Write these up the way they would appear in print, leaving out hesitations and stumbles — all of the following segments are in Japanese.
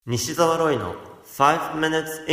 西澤ロイの5 minutes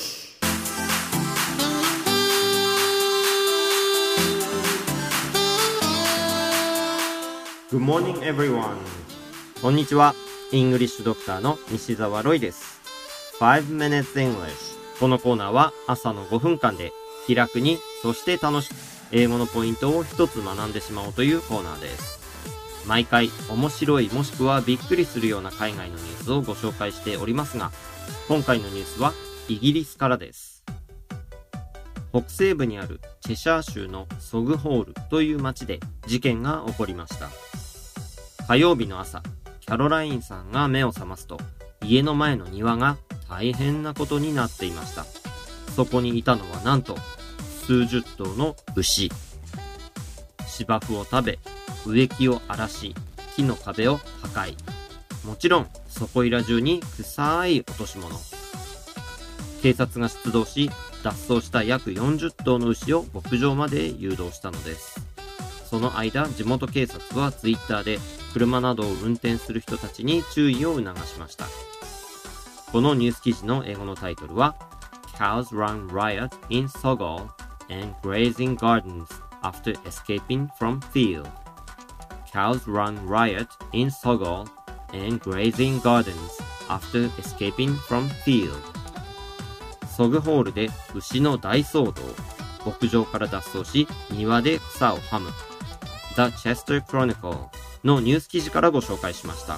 English。Good morning everyone。こんにちは。イングリッシュドクターの西澤ロイです。5 minutes English。このコーナーは朝の5分間で気楽に、そして楽しく英語のポイントを一つ学んでしまおうというコーナーです。毎回面白いもしくはびっくりするような海外のニュースをご紹介しておりますが、今回のニュースはイギリスからです。北西部にあるチェシャー州のソグホールという町で事件が起こりました。火曜日の朝、キャロラインさんが目を覚ますと、家の前の庭が大変なことになっていました。そこにいたのはなんと数十頭の牛。芝生を食べ、植木を荒らし、木の壁を破壊。もちろんそこいら中に臭い落とし物。警察が出動し、脱走した約40頭の牛を牧場まで誘導したのです。その間、地元警察はツイッターで車などを運転する人たちに注意を促しました。このニュース記事の英語のタイトルは Cows run riot in Sogol and grazing gardens after escaping from field.Cows run riot in Sogol and grazing gardens after escaping from field. ソグホールで牛の大騒動。牧場から脱走し、庭で草をはむ。The Chester Chronicle のニュース記事からご紹介しました。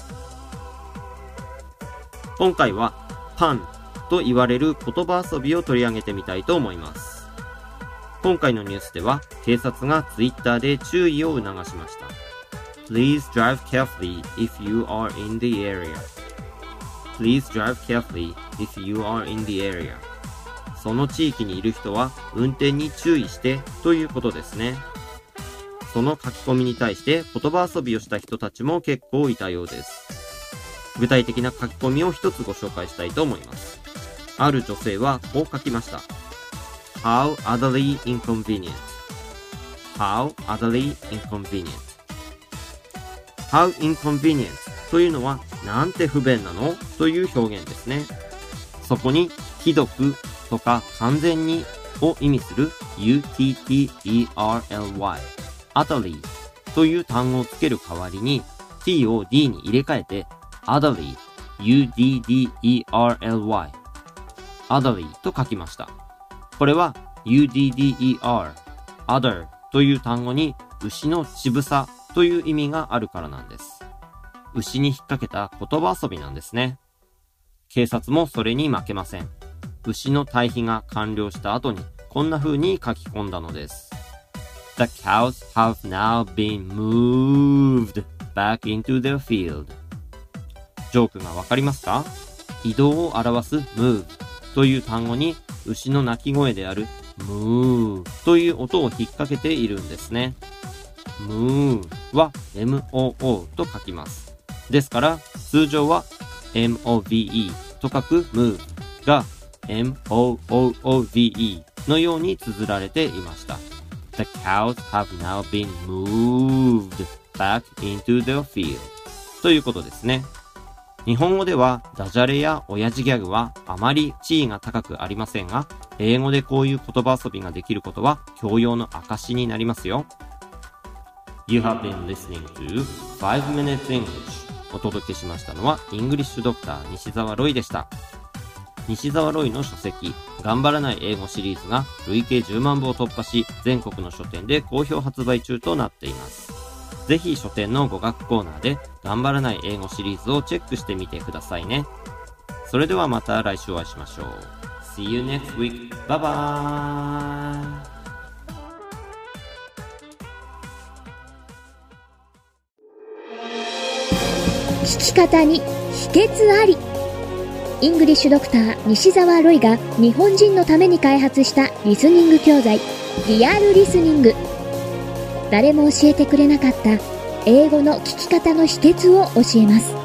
今回はパンと言われる言葉遊びを取り上げてみたいと思います。今回のニュースでは警察がツイッターで注意を促しました。Please drive carefully if you are in the area. Please drive carefully if you are in the area. その地域にいる人は運転に注意してということですね。その書き込みに対して言葉遊びをした人たちも結構いたようです。具体的な書き込みを一つご紹介したいと思います。ある女性はこう書きました。How utterly inconvenient. How utterly inconvenient.How inconvenient というのはなんて不便なのという表現ですね。そこにひどくとか完全にを意味する utterly utterly という単語をつける代わりに t を d に入れ替えて utterly udderly utterly と書きました。これは udder other という単語に牛の渋さという意味があるからなんです。牛に引っ掛けた言葉遊びなんですね。警察もそれに負けません。牛の堆肥が完了した後にこんな風に書き込んだのです。The cows have now been moved back into their field. ジョークがわかりますか？移動を表す move という単語に牛の鳴き声である moo という音を引っ掛けているんですね。moo は moo と書きます。ですから通常は move と書く move が moove のように綴られていました。The cows have now been moved back into their field ということですね。日本語ではダジャレや親父ギャグはあまり地位が高くありませんが、英語でこういう言葉遊びができることは教養の証になりますよ。You have been listening to 5 minutes English。 お届けしましたのはイングリッシュドクター西澤ロイでした。西澤ロイの書籍頑張らない英語シリーズが累計10万部を突破し、全国の書店で好評発売中となっています。ぜひ書店の語学コーナーで頑張らない英語シリーズをチェックしてみてくださいね。それではまた来週お会いしましょう。 See you next week. Bye bye。 聞き方に秘訣あり。イングリッシュドクター西澤ロイが日本人のために開発したリスニング教材リアルリスニング。誰も教えてくれなかった英語の聞き方の秘訣を教えます。